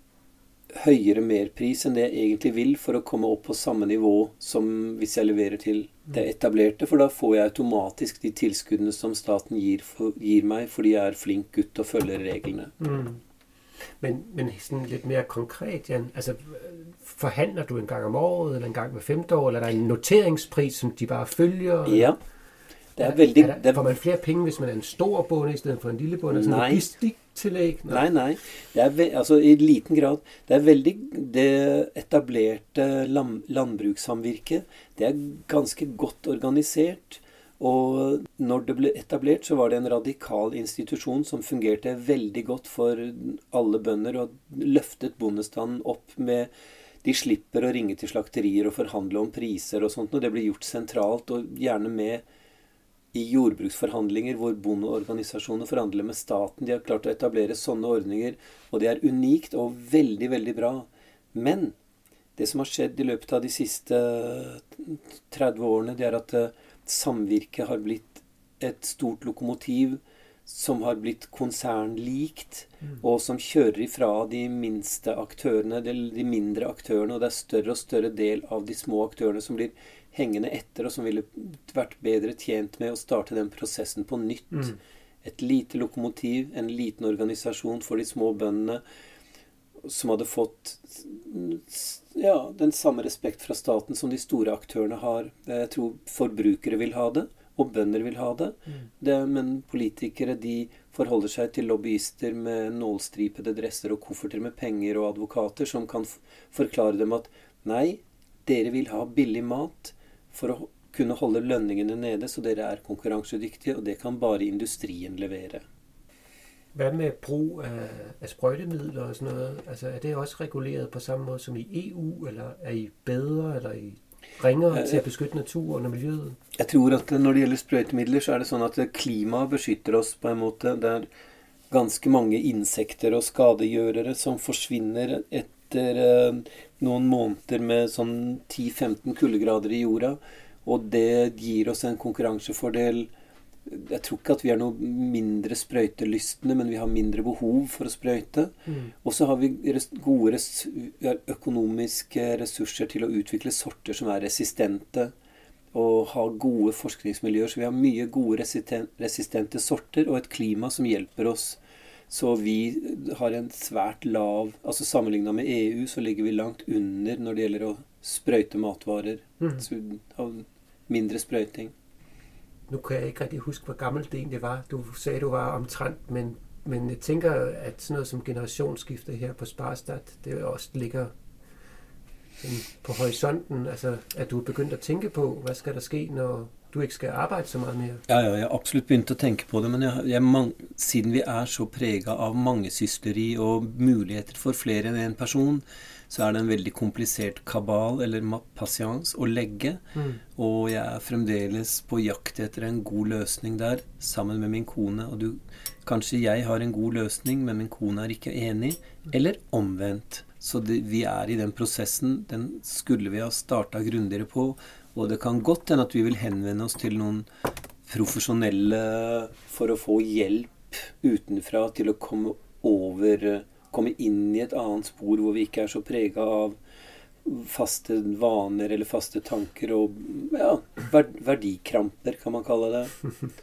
høyere merpris enn det jeg egentlig vil for å komme opp på samme nivå som hvis jeg leverer til det etablerte, for da får jeg automatisk de tilskuddene som staten gir, for, gir meg, fordi jeg er flink gutt og følger reglene. Mm. Men, men sådan lidt mere konkret, Jan, altså forhandler du en gang om året, eller en gang hver femte år, eller er der en noteringspris, som de bare følger? Ja. Det er veldig, er der, får man flere penge, hvis man er en stor bonde i stedet for en lille bonde? Altså nei. Logistiktillegg? Nei, nei. Det er ve- altså, i liten grad. Det er veldig det etablerte lam- landbrukssamvirket. Det er ganske godt organisert. Og når det ble etablert, så var det en radikal institusjon som fungerte veldig godt for alle bønder, og løftet bondestanden opp med... De slipper å ringe til slakterier og forhandle om priser og sånt, og det blir gjort sentralt, og gjerne med i jordbruksforhandlinger hvor bondeorganisasjoner forhandler med staten. De har klart å etablere sånne ordninger, og det er unikt og veldig, veldig bra. Men det som har skjedd i løpet av de siste tretti årene, det er at samvirket har blitt et stort lokomotiv som har blitt konsernlikt, mm. og som kjører ifra de minste aktørene, de, de mindre aktørene, og det er større og større del av de små aktørene som blir hengende etter, og som ville vært bedre tjent med å starte den prosessen på nytt. Mm. Et lite lokomotiv, en liten organisasjon for de små bøndene, som hadde fått ja, den samme respekt fra staten som de store aktørene har. Jeg tror forbrukere vil ha det, og bønder vil ha det. Mm. det. Men politikere, de forholder seg til lobbyister med nålstripede dresser og kofferter med penger og advokater som kan f- forklare dem at nei, dere vil ha billig mat for å kunne holde lønningene nede, så dere er konkurransedyktige, og det kan bare industrien levere. Hvad med brug af, af sprøjtemidler og sådan noget? Altså, er det også reguleret på samme måde som i E U, eller er I bedre, eller er I ringere til at beskytte naturen og miljøet? Jeg tror at når det gjelder sprøytemidler, så er det sånn at klimaet beskytter oss på en måte. Det er ganske mange insekter og skadegjørere som forsvinner etter eh, noen måneder med sånn ti til femten kuldegrader i jorda, og det gir oss en konkurransefordel. Jeg tror ikke at vi er noe mindre sprøytelystne, men vi har mindre behov for å sprøyte. Mm. Og så har vi res- gode res- økonomiske ressurser til å utvikle sorter som er resistente, og ha gode forskningsmiljøer. Så vi har mye gode resisten- resistente sorter, og et klima som hjelper oss. Så vi har en svært lav, altså sammenlignet med E U, så ligger vi langt under når det gjelder å sprøyte matvarer. Mm. Så vi har mindre sprøyting. Nu kan jeg ikke rigtig huske, hvor gammelt det egentlig var. Du sagde, du var omtrent, men, men jeg tænker, at sådan noget som generationsskifte her på Sparestad, det også ligger sådan på horisonten. Altså, at du er begyndt at tænke på, hvad skal der ske, når du ikke skal arbejde så meget mere? Ja, ja, jeg har absolutt begynt å tenke på det, men jeg, jeg, man, siden vi er så preget av mangesysteri og muligheter for flere enn en person, så er det en veldig komplisert kabal, eller patience, å legge. Mm. Og jeg er fremdeles på jakt etter en god løsning der, sammen med min kone. Og du, kanskje jeg har en god løsning, men min kone er ikke enig, eller omvendt. Så det, vi er i den prosessen, den skulle vi ha startet grundigere på, og det kan godt hende at vi vil henvende oss til noen profesjonelle for å få hjelp utenfra til å komme over komme inn i et annet spor hvor vi ikke er så preget av faste vaner eller faste tanker og ja, verdikramper, kan man kalle det.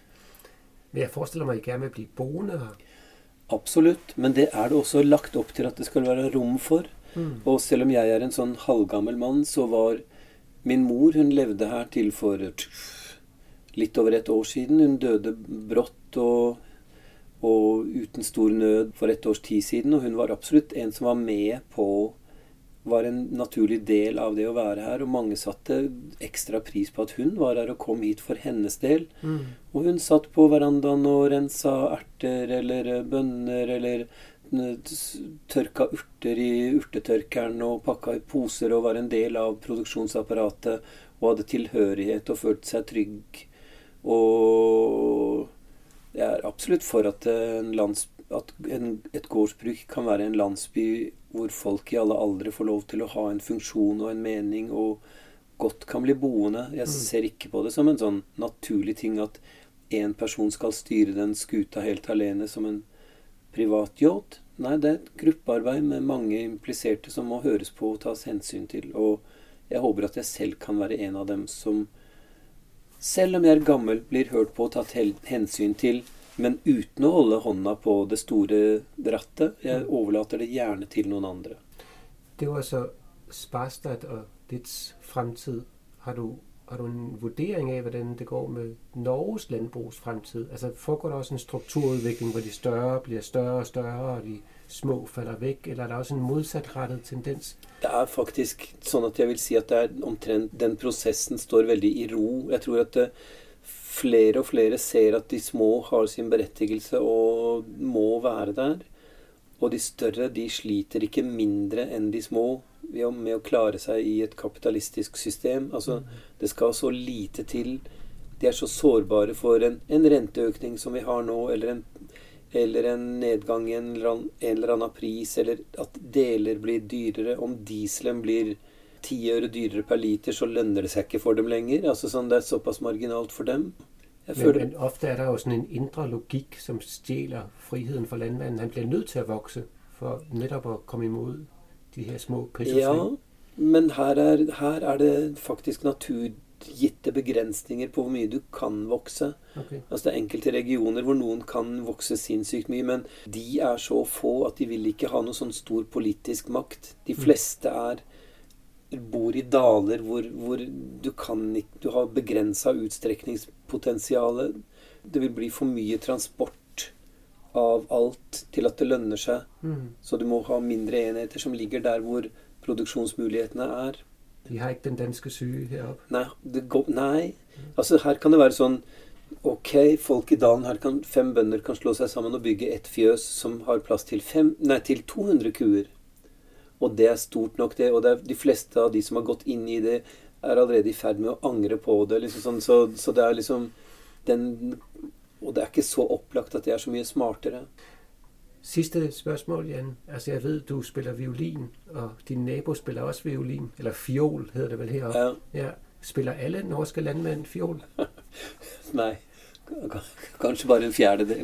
Men jeg forestiller meg ikke, at jeg vil bli boende her. Absolutt, men det er det også lagt opp til at det skal være rom for. Mm. Og selv om jeg er en sånn halvgammel mann, så var min mor, hun levde her til for litt over et år siden. Hun døde brått og og uten stor nød for et års tid siden, og hun var absolutt en som var med på, var en naturlig del av det å være her, og mange satte ekstra pris på at hun var her og kom hit for hennes del. Mm. Og hun satt på verandaen og rensa erter eller bønner eller tørka urter i urtetørkeren og pakka i poser og var en del av produksjonsapparatet og hadde tilhørighet og følte seg trygg. Og jeg er absolutt for at, en lands, at en, et gårdsbruk kan være en landsby hvor folk i alle aldre får lov til å ha en funksjon og en mening og godt kan bli boende. Jeg ser ikke på det som en sånn naturlig ting at en person skal styre den skuta helt alene som en privat yacht. Nei, det er et gruppearbeid med mange impliserte som må høres på og tas hensyn til. Og jeg håper at jeg selv kan være en av dem som, selv om jeg er gammel, blir hørt på og tatt hensyn til, men uten å holde hånda på det store rattet. Jeg overlater det gjerne til noen andre. Det var så Sparstad og dets fremtid. Har du, har du en vurdering af, hvordan det går med Norges landbrugs fremtid? Altså foregår der også en strukturudvikling, hvor de større bliver større og større, og de små falder væk, eller er der også en modsatrettet tendens? Det er faktisk sånn at jeg vil si at det er omtrent, den prosessen står veldig i ro. Jeg tror at det, flere og flere ser at de små har sin berettigelse og må være der. Og de større, de sliter ikke mindre enn de små med å klare seg i et kapitalistisk system. Altså, det skal så lite til. De er så sårbare for en, en renteøkning som vi har nå, eller en, eller en nedgang i en, en eller annen pris, eller at deler blir dyrere. Om dieselen blir ti øre dyrere per liter, så lønner det seg ikke for dem lenger. Altså, sånn, det er såpass marginalt for dem. Men, føler... men ofte er der jo sådan en indre logik, som stjæler friheden for landmanden. Han bliver nødt til at vokse, for netop at komme imod de her små prisudfring. Ja, men her er, her er det faktisk naturgitte begrensninger på hvor mye du kan vokse. Okay. Altså det er enkelte regioner hvor noen kan vokse sinnssykt mye, men de er så få at de vil ikke ha noe sånn stor politisk makt. De fleste er bor i daler hvor, hvor du kan ikke, du har begrenset utstrekningspotensialet. Det vil bli for mye transport av alt til at det lønner seg. Mm. Så du må ha mindre enheter som ligger der hvor produksjonsmulighetene er. De har ikke den danske syge heroppe? Nei, det går, nei. Altså her kan det være sånn, ok, folk i dalen her kan, fem bønder kan slå seg sammen og bygge et fjøs som har plass til, fem, nei, til to hundre kuer. Og det er stort nok det, og det er de fleste av de som har gått inn i det, er allerede i ferd med å angre på det, liksom sånn, så, så det er liksom den, og det er ikke så opplagt at det er så mye smartere. Sidste spørgsmål, Jan. Altså jeg ved, du spiller violin, og din nabo spiller også violin, eller fiol hedder det vel heroppe. Ja. Ja. Spiller alle norske landmænd fiol? Nei, kanskje bare en fjerdedel.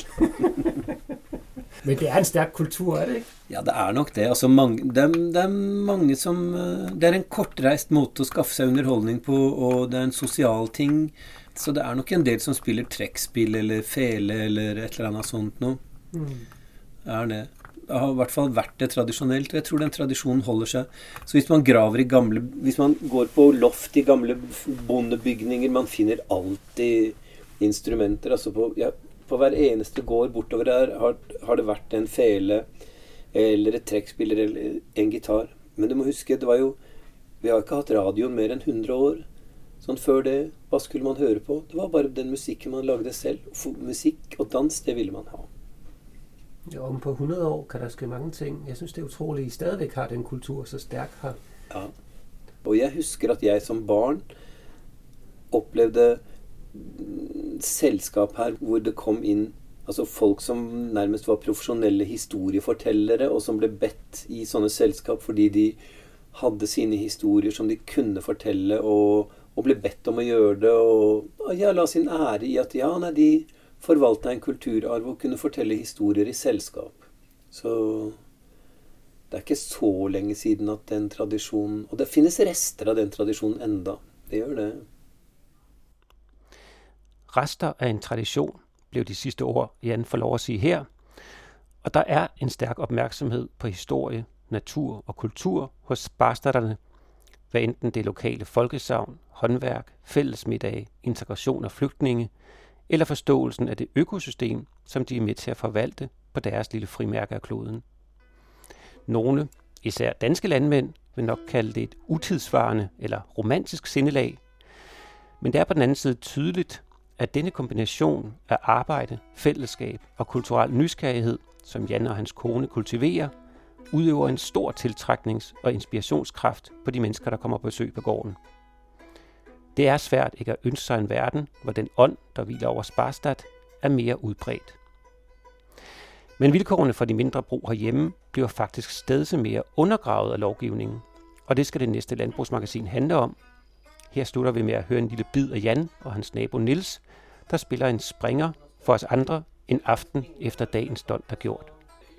Men det er en stærk kultur, er det ikke? Ja, det er nok det. Altså, mange, det, er, det er mange som... Det er en kortreist måte å skaffe seg underholdning på, og det er en sosial ting. Så det er nok en del som spiller trekkspill eller fele eller et eller annet sånt nå. Mm. Er det. Det har i hvert fall vært det tradisjonelt, og jeg tror den tradisjonen holder seg. Så hvis man graver i gamle... Hvis man går på loft i gamle bondebygninger, man finner alltid instrumenter. Altså på... Ja, på hver eneste gård bortover der har, har det vært en fele eller et trekkspiller eller en gitar. Men du må huske, det var jo, vi har ikke hatt radioen mer enn hundre år. Sånn før det, hva skulle man høre på? Det var bare den musikken man lagde selv. Musikk og dans, det ville man ha. Ja, om på hundrede år kan der ske mange ting. Jeg synes det er utrolig, I stadigvæk har den kultur så stærk her. Ja, og jeg husker at jeg som barn opplevde selskap her hvor det kom inn altså folk som nærmest var profesjonelle historiefortellere og som ble bedt i sånne selskap fordi de hadde sine historier som de kunne fortelle og, og ble bedt om å gjøre det og ja, la sin ære i at ja, nei, de forvaltet en kulturarv og kunne fortelle historier i selskap. Så det er ikke så lenge siden at den tradisjonen, og det finnes rester av den tradisjonen enda, det gjør det. Rester af en tradition, blev de sidste ord, Jan får lov at sige her. Og der er en stærk opmærksomhed på historie, natur og kultur hos sparstaderne, hvad enten det lokale folkesavn, håndværk, fællesmiddage, integration af flygtninge, eller forståelsen af det økosystem, som de er med til at forvalte på deres lille frimærke af kloden. Nogle, især danske landmænd, vil nok kalde det et utidsvarende eller romantisk sindelag, men det er på den anden side tydeligt, at denne kombination af arbejde, fællesskab og kulturel nysgerrighed, som Jan og hans kone kultiverer, udøver en stor tiltræknings- og inspirationskraft på de mennesker, der kommer på besøg på gården. Det er svært ikke at ønske sig en verden, hvor den ånd, der hviler over Sparstad, er mere udbredt. Men vilkårene for de mindre brug herhjemme bliver faktisk stadig mere undergravet af lovgivningen, og det skal det næste landbrugsmagasin handle om. Her slutter vi med at høre en lille bid af Jan og hans nabo Niels, der spiller en springer for os andre en aften efter dagens dont er gjort.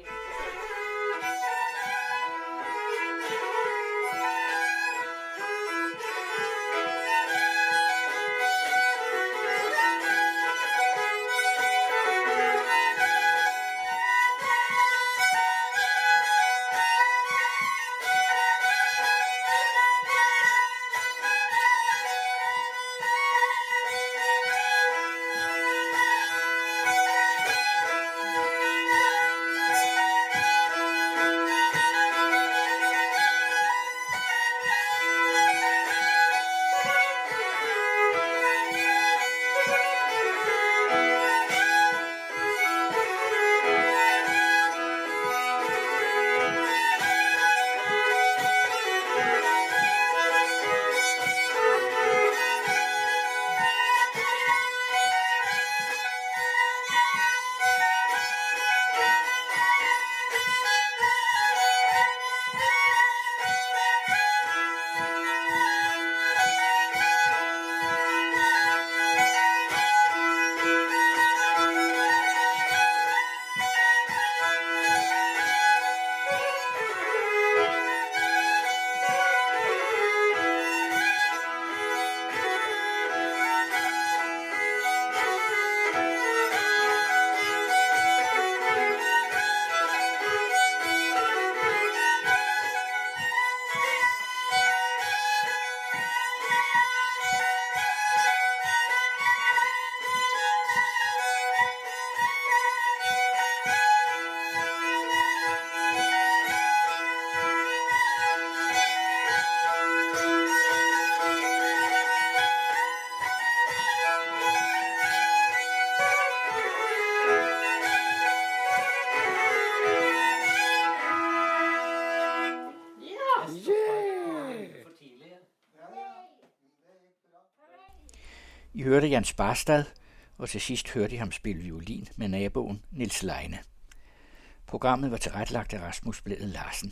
I hørte Jan Sparstad, og til sidst hørte I ham spille violin med naboen Niels Leine. Programmet var tilrettelagt af Rasmus Blædel Larsen.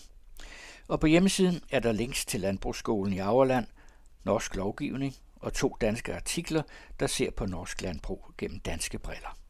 Og på hjemmesiden er der links til Landbrugsskolen i Aurland, norsk lovgivning og to danske artikler, der ser på norsk landbrug gennem danske briller.